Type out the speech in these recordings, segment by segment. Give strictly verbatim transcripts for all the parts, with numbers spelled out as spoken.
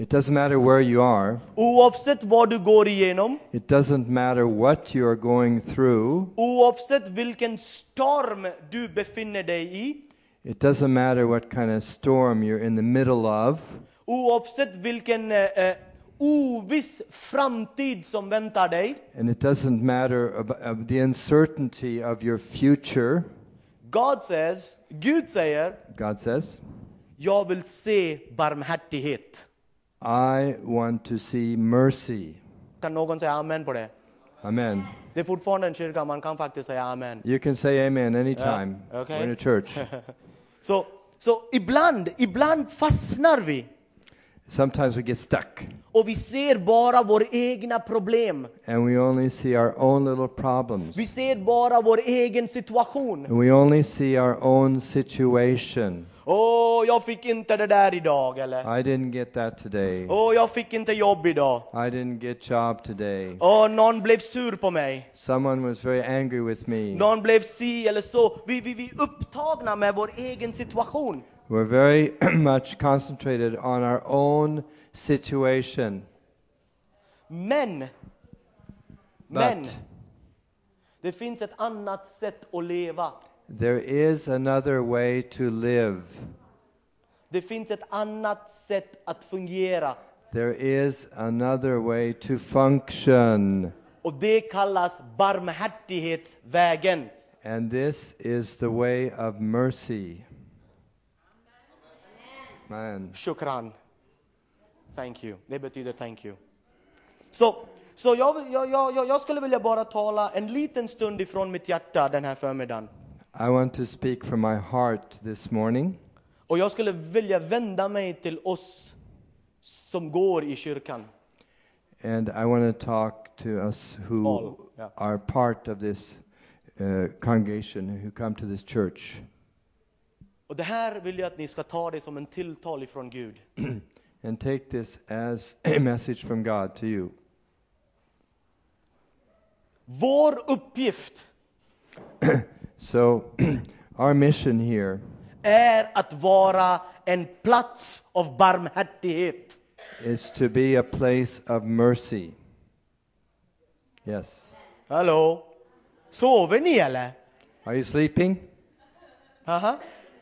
It doesn't matter where you are. Oavsett vad du går igenom. It doesn't matter what you are going through. Oavsett vilken storm du befinner dig i. It doesn't matter what kind of storm you're in the middle of. Oavsett vilken eh, oviss framtid som väntar dig. And it doesn't matter about the uncertainty of your future. God says, Gud säger, God says, jag vill se barmhärtighet. I want to see mercy. Kan någon säga amen på det? Amen. Det är fortfarande en kyrka, man kan faktiskt säga amen. You can say amen anytime. Yeah, okay. We're in a church. Så så ibland, ibland fastnar vi. Sometimes we get stuck. Och vi ser bara våra egna problem. And we only see our own little problems. Vi ser bara vår egen situation. And we only see our own situation. Åh, jag fick inte det där idag, eller? I didn't get that today. Åh, jag fick inte jobb idag. I didn't get job today. Åh, någon blev sur på mig. Someone was very angry with me. Någon blev si eller så. Vi, vi, vi är upptagna med vår egen situation. We're very much concentrated on our own situation. Men, men, But det finns ett annat sätt att leva. there is another way to live. Det finns ett annat sätt att fungera. There is another way to function. Och det kallas barmhärtighetsvägen. And this is the way of mercy. Man. Shukran. Thank you. Det betyder thank you. Så, så jag, jag, jag, jag skulle vilja bara tala en liten stund ifrån mitt hjärta den här förmiddagen. I want to speak from my heart this morning. Och jag skulle vilja vända mig till oss som går i kyrkan. And I want to talk to us who All, yeah. are part of this uh, congregation, who come to this church. Och det här vill jag att ni ska ta det som en tilltal ifrån Gud. And take this as a message from God to you. Vår uppgift So, our mission here är att vara en plats av barmhärtighet. is to be a place of mercy. Yes. Hallå? Sover ni eller? Are you sleeping? Aha.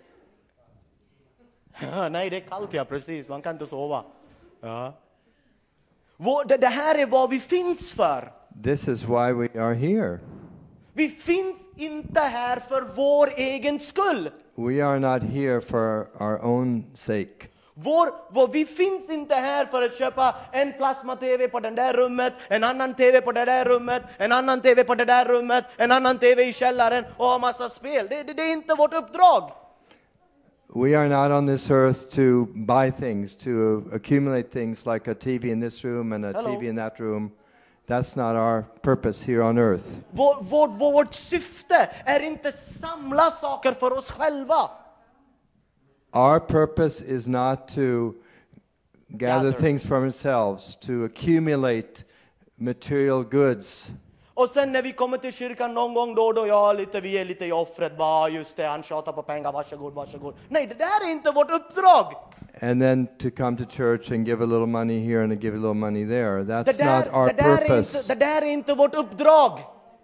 Nej, det är kallt ja, precis. Man kan inte sova. Ja. Vår, det, det här är vad vi finns för. This is why we are here. Vi finns inte här för vår egen skull. We are not here for our own sake. Vår, vår, vi finns inte här för att köpa en plasma-tv på den där rummet, en annan tv på det där rummet, en annan tv på det där rummet, en annan tv i källaren och ha massa spel. Det, det, det är inte vårt uppdrag. We are not on this earth to buy things, to accumulate things like a T V in this room and a Hello. T V in that room. That's not our purpose here on earth. Vår, vår, vårt syfte är inte samla saker för oss själva. Our purpose is not to gather Gather. things for ourselves, to accumulate material goods. Och sen när vi kommer till kyrkan någon gång då och då, ja, lite, vi är lite i offret, bara just det, han tjatar på pengar, varsågod, varsågod. Nej, det där är inte vårt uppdrag. And then to come to church and give a little money here and to give a little money there. Det That's där, not our det, där är purpose. inte, det där är inte vårt uppdrag.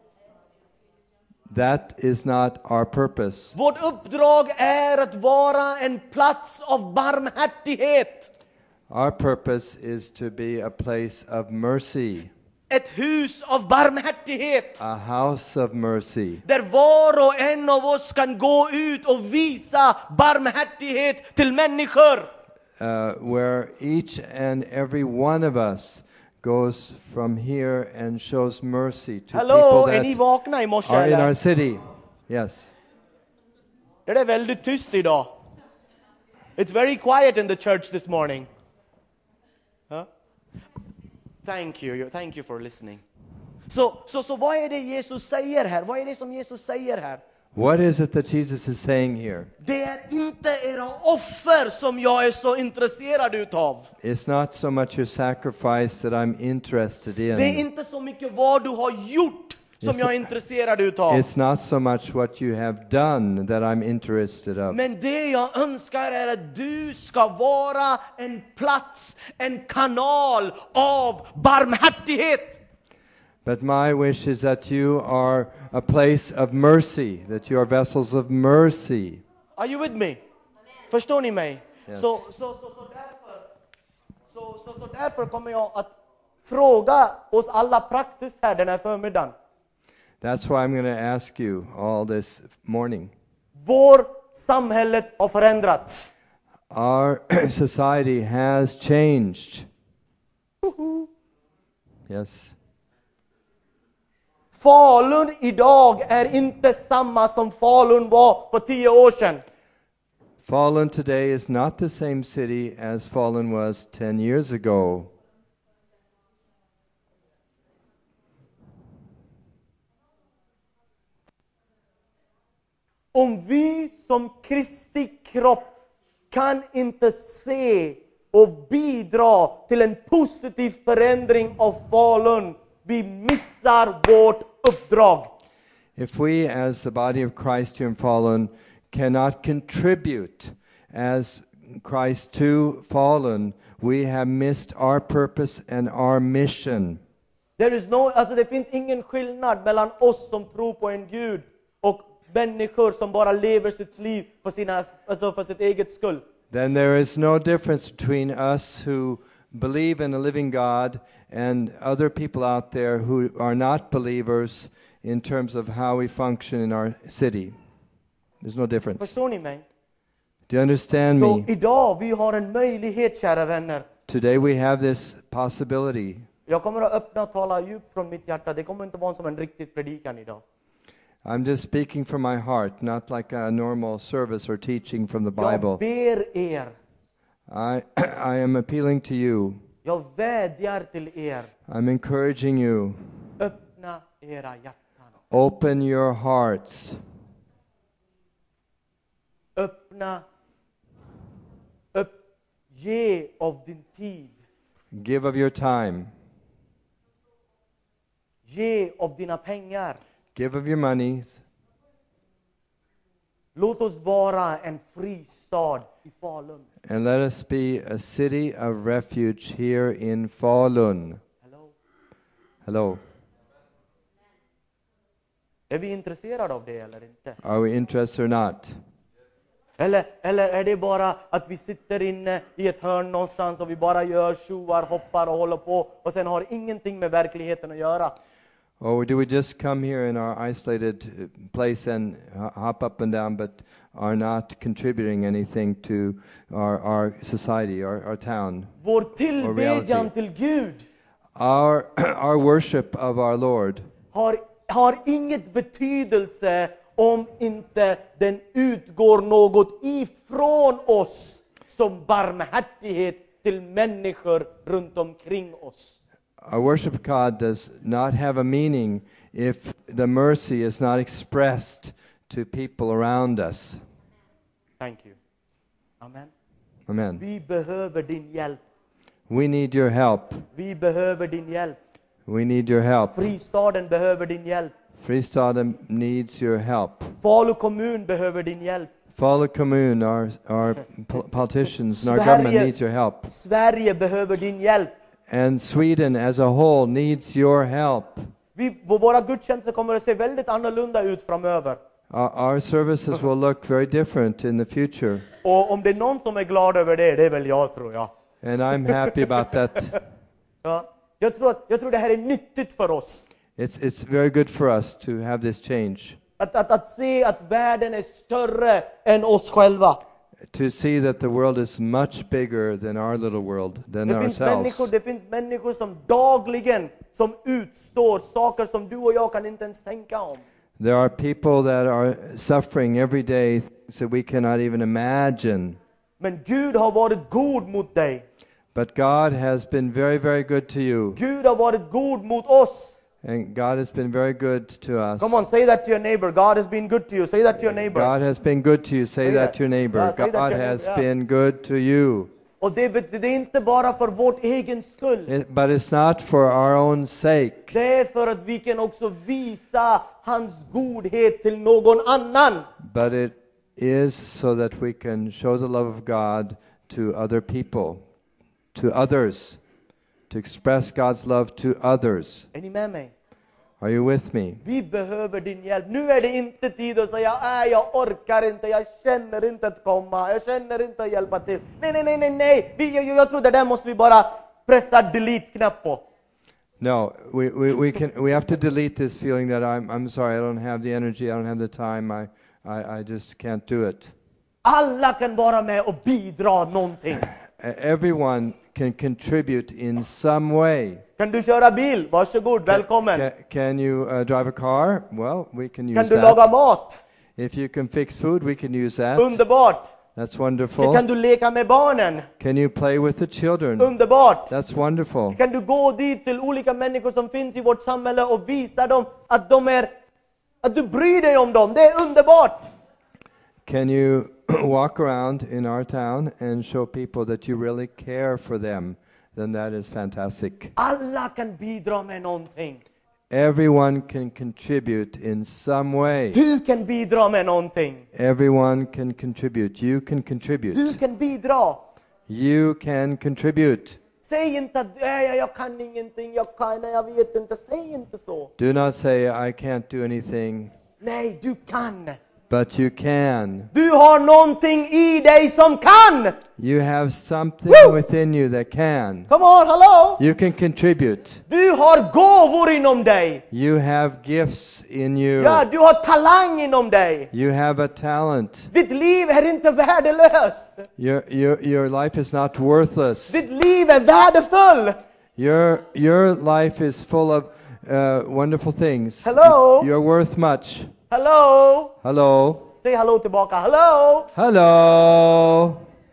That is not our purpose. Vårt uppdrag är att vara en plats av barmhärtighet. Our purpose is to be a place of mercy, Ett hus av barmhärtighet. a house of mercy, Där var och en av oss kan gå ut och visa barmhärtighet till människor. uh, where each and every one of us goes from here and shows mercy to Hallå, people är ni that vakna i morse are in eller? our city. Yes. Det är väldigt tyst idag. It's very quiet in the church this morning. Huh? Thank you, thank you for listening. Så, så, så vad är det Jesus säger här? Vad är det som Jesus säger här? What is it that Jesus is saying here? Det är inte era offer som jag är så intresserad utav. It's not so much your sacrifice that I'm interested Det är in. inte så mycket vad du har gjort som It's jag är intresserad utav. It's not so much what you have done that I'm interested of. Men det jag önskar är att du ska vara en plats, en kanal av barmhärtighet. But my wish is that you are a place of mercy, that you are vessels of mercy. Are you with me? Förstår ni mig? Yes. Så, så, så, så, därför, så, så, så därför kommer jag att fråga oss alla praktiskt här den här förmiddagen. That's why I'm going to ask you all this morning. Vår samhället har förändrats. Our society has changed. Yes. Falun idag är inte samma som Falun var för tio år sedan. Falun today is not the same city as Falun was ten years ago. Om vi som Kristi kropp kan inte se och bidra till en positiv förändring av Falun, vi missar vårt uppdrag. If we as the body of Christ here in Falun cannot contribute as Christ to Falun, we have missed our purpose and our mission. There is no, alltså det finns ingen skillnad mellan oss som tror på en Gud och människor som bara lever sitt liv för, sina, alltså för sitt eget skull. Then there is no difference between us who believe in a living God and other people out there who are not believers in terms of how we function in our city. There's no difference. Förstår ni mig? Do you understand Så me? idag vi har en möjlighet, kära vänner. Today we have this possibility. Jag kommer att öppna och tala djupt från mitt hjärta. Det kommer inte vara som en riktig predikan idag. I'm just speaking from my heart, not like a normal service or teaching from the Jag Bible. ber er. I, I am appealing to you. Jag vädjar till er. I'm encouraging you. Öppna era hjärtan. Open your hearts. Öppna. Öpp, ge av din tid. Give of your time. Ge av dina pengar. Give of your monies. Låt oss vara en fristad i Falun. And let us be a city of refuge here in Falun. Hello. Hello. Är vi intresserade av det eller inte? Are we interested or not? Eller, eller är det bara att vi sitter inne i ett hörn någonstans och vi bara gör tjoar, hoppar och håller på och sen har ingenting med verkligheten att göra? Or do we just come here in our isolated uh, place and ho- hop up and down but are not contributing anything to our, our society, our, our town? Vår tillbedjan till Gud Our, our worship of our Lord har, har inget betydelse om inte den utgår något ifrån oss som barmhärtighet till människor runt omkring oss. Our worship of God does not have a meaning if the mercy is not expressed to people around us. Thank you. Amen. Amen. Vi behöver din hjälp. We need your help. Vi behöver din hjälp. We need your help. Fristaden behöver din hjälp. Fristaden needs your help. Falu kommun behöver din hjälp. Falu kommun, our, our po- politicians and our government needs your help. Sverige behöver din hjälp. And Sweden as a whole needs your help. Vi, våra gudstjänster kommer att se väldigt annorlunda ut framöver. Our, our services will look very different in the future. Och om det är någon som är glad över det, det är väl jag, tror jag. And I'm happy about that. Ja, jag, tror att, jag tror det här är nyttigt för oss. It's, it's very good for us to have this change. Att, att, att se att världen är större än oss själva. To see that the world is much bigger than our little world, than Det finns, ourselves. människor, det finns människor som dagligen som utstår saker som du och jag kan inte ens tänka om. There are people that are suffering every day, things that we cannot even imagine. Men Gud har varit god mot dig. But God has been very, very good to you. Gud har varit god mot oss. And God has been very good to us. Come on, say that to your neighbor. God has been good to you. Say that to your neighbor. God has been good to you. Say Say that that. to your neighbor. Yeah, say that to God your has neighbor, yeah. been good to you. Och det, bet- det är inte bara för vårt egen skull. It, but it's not for our own sake. Det är för att vi kan också visa hans godhet till någon annan. But it is so that we can show the love of God to other people, to others, to express God's love to others. Är ni med mig? Are you with me? Vi behöver din hjälp. Nu är det inte tid att säga nej, jag orkar inte, jag känner inte att komma, jag känner inte att hjälpa till. Nej, nej, nej, nej, nej. Vi, jag, jag tror det där måste vi bara pressa delete-knapp på. No, we, we, we can we have to delete this feeling that I'm I'm sorry, I don't have the energy, I don't have the time, I I, I just can't do it. Alla kan vara med och bidra någonting. Everyone can contribute in some way. Kan du köra bil? Varsågod, välkommen. Can, can you uh, drive a car? Well, we can use Kan du that. laga mat? If you can fix food, we can use that. Underbart. That's wonderful. Kan du leka med barnen? Can you play with the children? Underbart. That's wonderful. Kan du gå dit till olika människor som finns i vårt samhälle och visa dem att de är, att du bryr dig om dem? Det är underbart. Can you walk around in our town and show people that you really care for them? Then that is fantastic. Alla kan bidra med någonting. Everyone can contribute in some way. Du kan bidra med någonting. Everyone can contribute. You can contribute. Du kan bidra. You can contribute. Säg inte att jag, jag kan ingenting, jag kan, jag vet inte. Säg inte så. Do not say, I can't do anything. Nej, du kan. But you can. Du har någonting i dig som kan. You have something Woo! within you that can. Come on, hello. You can contribute. Du har gåvor inom dig. You have gifts in you. Ja, du har talang inom dig. You have a talent. Ditt liv är inte värdelöst. Your, your, your life is not worthless. Ditt liv är värdefull. Your, your life is full of uh, wonderful things. Hello. You're worth much. Hello. Hello. Säg hallå tillbaka. Hello. Hello.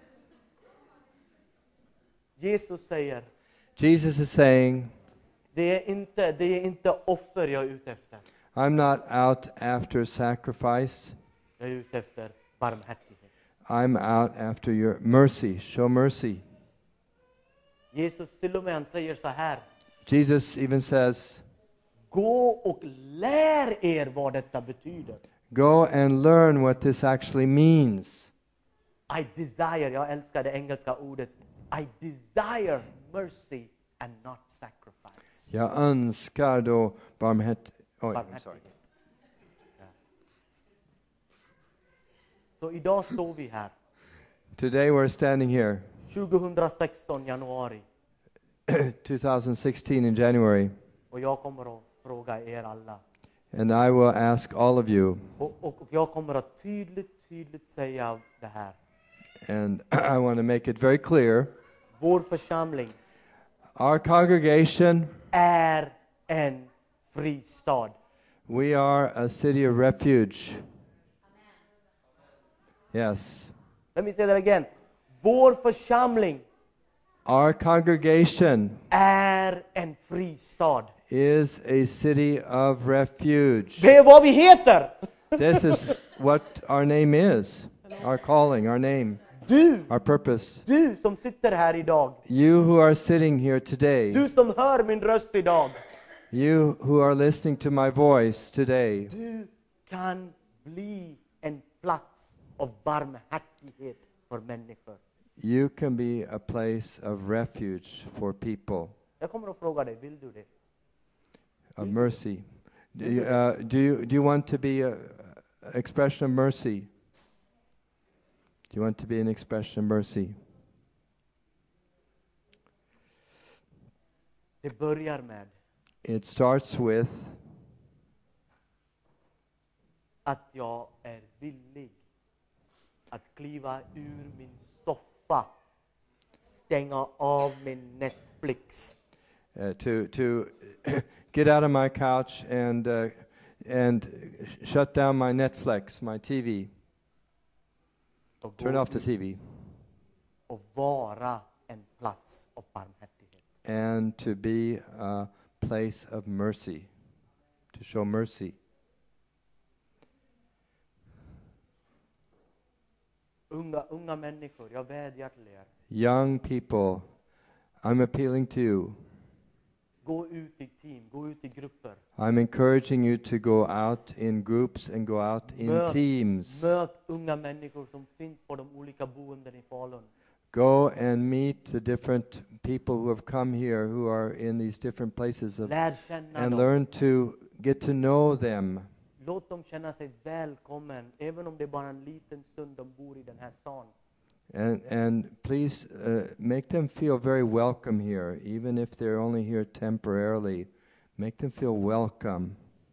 Jesus säger, Jesus is saying, det är inte, det är inte offer jag är ute efter. I'm not out after sacrifice. Jag är ute efter barmhärtighet. I'm out after your mercy. Show mercy. Jesus till och med han säger så här. Jesus even says, Gå och lär er vad detta betyder. go and learn what this actually means. I desire, jag älskar det engelska ordet. I desire mercy and not sacrifice. Jag önskar då barmhärtighet. Oj, I'm sorry. Barmhärtighet. Ja. Så idag står vi här. Today we're standing here, tjugo sexton januari. twenty sixteen in January, Och jag kommer att fråga er alla. and I will ask all of you, Och, och, och jag kommer att tydligt, tydligt säga det här. and I want to make it very clear, Vår församling our congregation, är en fristad. we are a city of refuge. Yes. Let me say that again. Vår församling Our congregation är en fristad. is a city of refuge. Det är vad vi heter. This is what our name is, our calling, our name, Du, our purpose. du som sitter här idag. You who are sitting here today, Du som hör min röst idag. you who are listening to my voice today, Du kan bli en plats av barmhärtighet för människor. you can be a place of refuge for people, Jag kommer att fråga dig, vill du det? of mercy. Do you, uh, do you, do you want to be an expression of mercy? Do you want to be an expression of mercy? Det börjar med It starts with att jag är villig att kliva ur min soffa, stänga av min Netflix. uh, to to get out of my couch and uh, and shut down my Netflix, my T V, Och turn gå off the ut T V, och vara en plats av barmhärtighet. and to be a place of mercy, to show mercy. Unga, unga människor, jag vädjar till er. Young people, I'm appealing to you. Gå ut i team, gå ut i grupper. I'm encouraging you to go out in groups and go out in Möt, teams. möt unga människor som finns på de olika boenden i Falun. Go and meet the different people who have come here, who are in these different places, of, Lär känna and dem. learn to get to know them. Låt dem känna sig välkommen, även om det är bara en liten stund de bor i den här stan. And and please uh, make them feel very welcome here, even if they're only here temporarily. Make them feel welcome.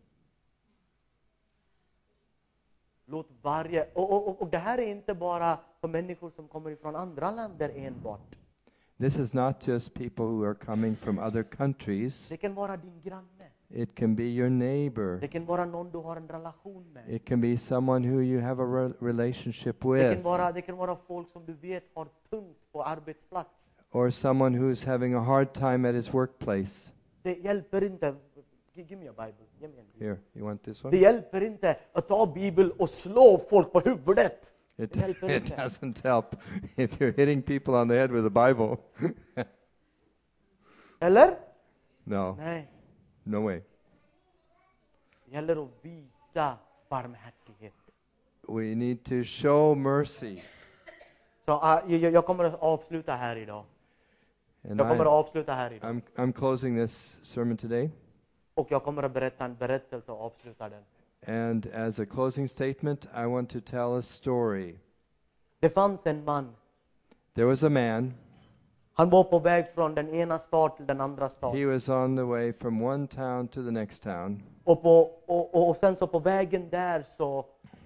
Låt varje, och, och, och det här är inte bara för människor som kommer ifrån andra länder enbart. This is not just people who are coming from other countries. Det kan vara din granne. It can be your neighbor. Det kan vara någon du har en relation med. It can be someone who you have a re- relationship Det with. kan vara, det kan vara folk som du vet har tungt på arbetsplats. Or someone who's having a hard time at his workplace. Det hjälper inte. Give me a Bible. Ge mig en bibel. Here, you want this Det one? hjälper inte att ta Bibeln och slå folk på huvudet. It, Det hjälper it inte. doesn't help if you're hitting people on the head with a Bible. Eller? No, Nej. no way. Det gäller att visa barmhärtighet. We need to show mercy. Så uh, jag, jag kommer att avsluta här idag. And Jag kommer att I, avsluta här idag. I'm, I'm closing this sermon today. Och jag kommer att berätta en berättelse och avsluta den. And as a closing statement, I want to tell a story. Det fanns en man. There was a man. Han var på väg från den ena stad till den andra stad. He was on the way from one town to the next town. Och, på, och, och, och sen så på vägen där så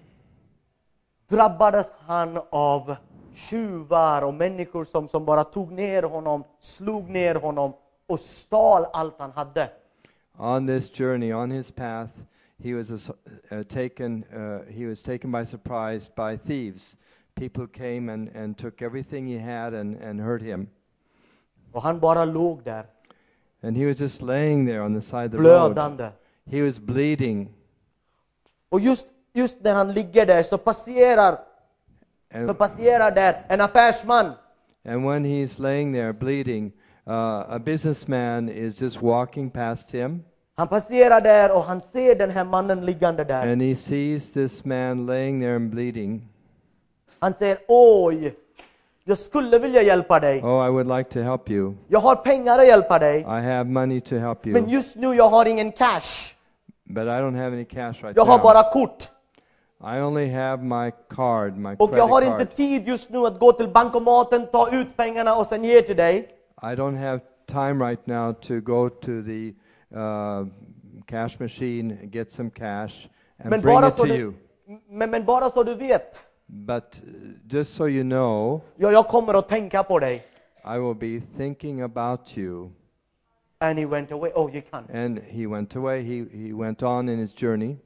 drabbades han av tjuvar och människor som, som bara tog ner honom, slog ner honom och stal allt han hade. On this journey, on his path, he was ass- uh, taken. Uh, he was taken by surprise by thieves. People came and, and took everything he had and, and hurt him. Och han bara låg där, And he was just laying there on the side of the road. blödande. He was bleeding. Och just, just när han ligger där så passerar, så And, passerar där en affärsman. and when he's laying there bleeding, uh, a businessman is just walking past him. Han passerar där och han ser den här mannen liggande där. And he sees this man laying there and bleeding. Han säger, oj, jag skulle vilja hjälpa dig. Oh, I would like to help you. Jag har pengar att hjälpa dig. I have money to help Men you. just nu jag har ingen cash. But I don't have any cash right Jag har now. bara kort. I only have my card, my Och jag har credit inte card. tid just nu att gå till bankomaten, ta ut pengarna och sen ge till dig. I don't have time right now to go to the uh, cash machine, get some cash, and Men bring bara, it så to du, you. men, men bara så du vet, But uh, just so you know, jag, jag kommer att tänka på dig. I will be thinking about you. And he went away. Oh, gick han. And he went away. He, he went on in his journey.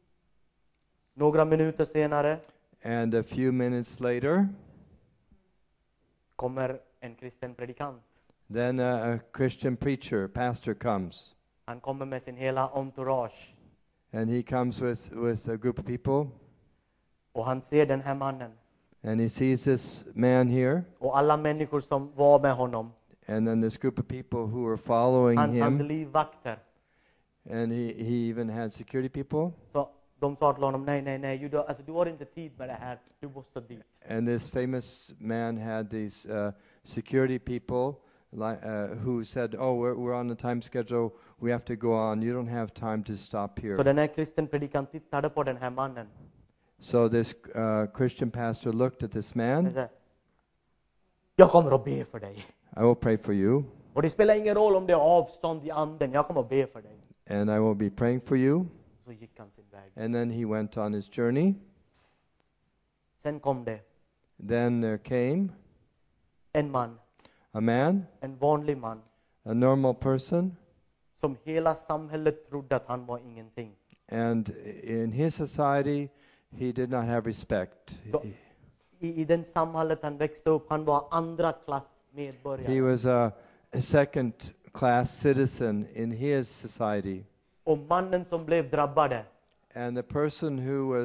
Några minuter senare And a few minutes later, kommer en kristen predikant. then a, a Christian preacher, pastor comes. Han kommer med sin hela entourage. And he comes with, with a group of people. Och han ser den här mannen. And he sees this man here. Och alla människor som var med honom. And then this group of people who were following Hans, hans him. livvakter. And he, he even had security people. Så de sa till honom, nej, nej, nej, du, alltså, du har inte tid med det här. Du måste dit. And this famous man had these uh, security people li- uh, who said, oh, we're, we're on the time schedule. We have to go on. You don't have time to stop here. Så den här kristen predikant tittade på den här mannen. So this uh, Christian pastor looked at this Han man. sa, jag kommer att be för dig. I will pray for you. Och det spelar ingen roll om det är avstånd i anden. Jag kommer att be för dig. And I will be praying for you. Så gick han sin väg. And then he went on his journey. Sen kom det Then there came en man, a man, en vanlig man, a normal person. som hela samhället trodde att han var ingenting. And in his society, he did not have respect. Då- I, I den samhället han växte upp, han var andra klass medborgare. He was a, a second class citizen in his society. Och mannen som blev drabbade, And the person who was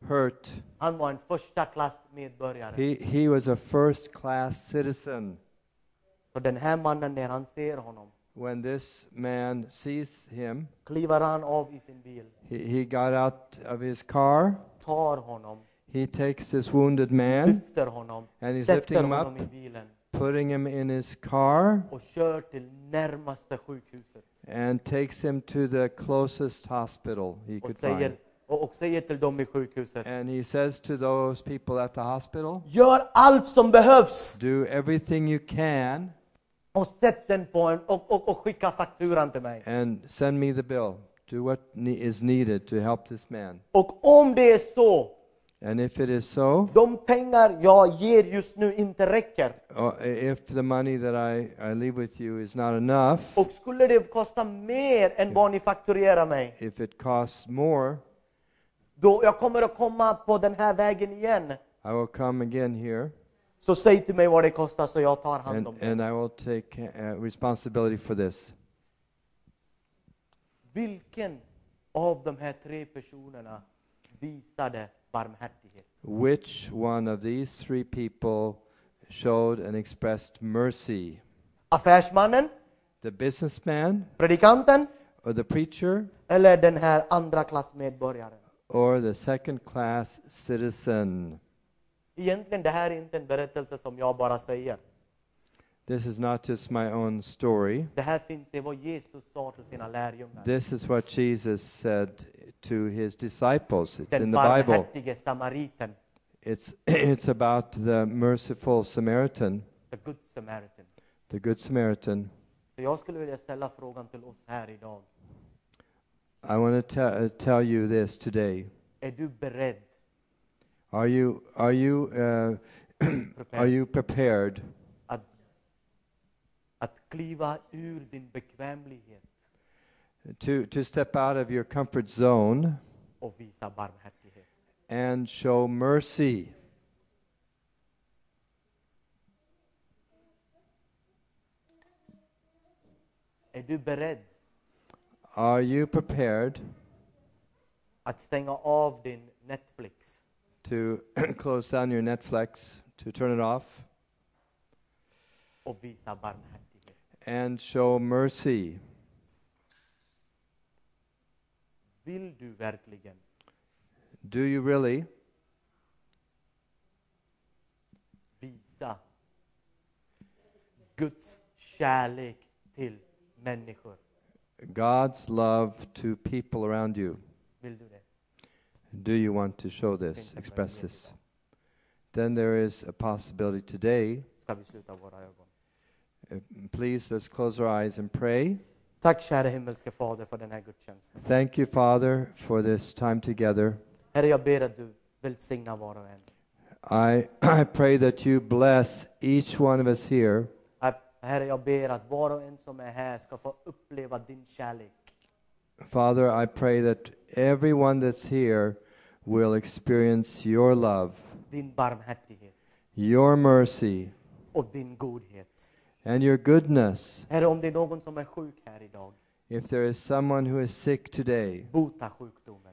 hurt. Han var en första klass medborgare. He, he was a first class citizen. Så den här mannen, när han ser honom, When this man sees him, kliver han av i sin bil, he, he got out of his car. tar honom, He takes this wounded man, lyfter honom, And he's sätter lifting him honom up. i bilen putting him in his car, och kör till närmaste sjukhuset. and takes him to the closest hospital he Och could säger, find. och, och säger till dem i sjukhuset: And he says to those people at the hospital, gör allt som behövs do everything you can och sätt den på en och, och, och skicka fakturan till mig. and send me the bill. Do what ne- is needed to help this man. Och om det är så, And if it is so, de pengar jag ger just nu inte räcker, or if the money that I, I leave with you is not enough, och skulle det kosta mer än vad ni fakturerar mig, if it costs more, då jag kommer att komma på den här vägen igen. I will come again here, Så säg till mig vad det kostar så jag tar hand and, om det. and I will take uh, responsibility for this. Vilken av de här tre personerna visade barmhärtighet? Which one of these three people showed and expressed mercy? Affärsmannen, The businessman, predikanten or the preacher, eller den här andra klass medborgaren? or the second class citizen? Egentligen det här är inte en berättelse som jag bara säger. This is not just my own story. Det här finns, det vad Jesus sa till sina lärjungar. This is what Jesus said to his disciples. It's Den in the Bible. barmhärtige samariten, It's, it's about the merciful Samaritan, the good Samaritan. the Good Samaritan. Så jag skulle vilja ställa frågan till oss här idag. I want to te- uh, tell you this today. Är du beredd, Are you, are you, uh, are you prepared att, att kliva ur din bekvämlighet to, to step out of your comfort zone och visa barmhärtighet? and show mercy? Är du beredd Are you prepared att stänga av din Netflix to close down your Netflix, to turn it off, och visa barmhärtighet? and show mercy? Vill du verkligen Do you really visa Guds kärlek till människor? God's love to people around you? Vill du det? Do you want to show this, express this? Then there is a possibility today. Ska vi sluta våra ögon? Uh, please, let's close our eyes and pray. Tack kära himmelske Fader för den här gudstjänsten. Thank you, Father, for this time together. Herre, jag ber att du välsignar var och en. I, I pray that you bless each one of us here. Herre, jag ber att var och en som är här ska få uppleva din kärlek. Father, I pray that everyone that's here will experience your love, Din barmhärtighet your mercy, och din godhet. and your goodness. Herre, om det är någon som är sjuk här idag, If there is someone who is sick today, bota sjukdomen.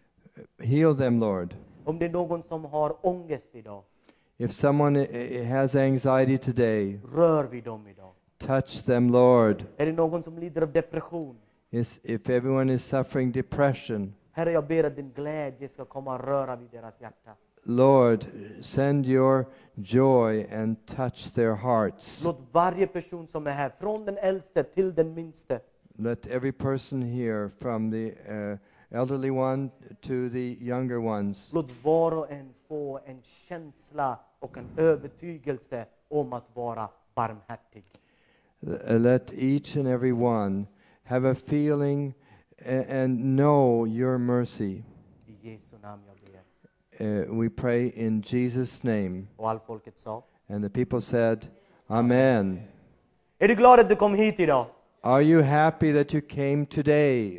heal them, Lord. Om det är någon som har ångest idag, If someone i- i- has anxiety today, rör vid dem idag. touch them, Lord. Är det någon som lider av depression, Is, if everyone is suffering depression, Herre, jag ber att din glädje ska komma och röra vid deras hjärta. Lord, send your joy and touch their hearts. Låt varje person som är här, från den äldste till den minste, Let every person here, from the uh, elderly one to the younger ones, låt var och en få en känsla och en övertygelse om att vara barmhärtig. uh, let each and every one have a feeling a- and know your mercy. I Jesu namn jag ber. Uh, we pray in Jesus' name. Och all folket sa: And the people said, Amen. är du glad att du kom hit idag? Are you happy that you came today?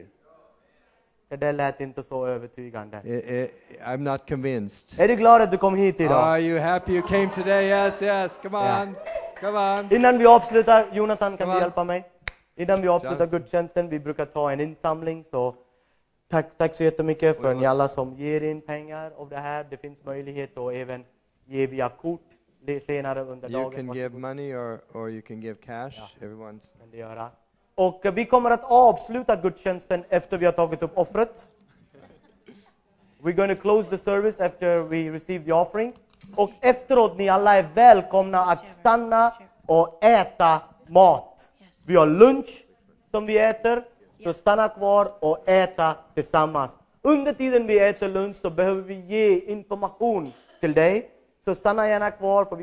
Det där lät inte så övertygande. I, I, I'm not convinced. Är du glad att du kom hit idag? Are you happy you came today? Yes, yes. Come on. Come on. Innan vi avslutar, Jonathan, kan Kom du an. hjälpa mig? Innan vi avslutar Jonathan. gudstjänsten, vi brukar ta en insamling, så Tack, tack så jättemycket för ni alla som ger in pengar av det här. Det finns möjlighet att även ge via kort senare under You dagen. can Varsågod. give money or, or you can give cash. Ja. Everyone's. Kan det göra. Och vi kommer att avsluta gudstjänsten efter vi har tagit upp offret. We're going to close the service after we receive the offering. Och efteråt, ni alla är välkomna att stanna och äta mat. Vi har lunch som vi äter, så stanna kvar och äta tillsammans. Under tiden vi äter lunch så behöver vi ge information till dig. Så stanna gärna kvar. För vi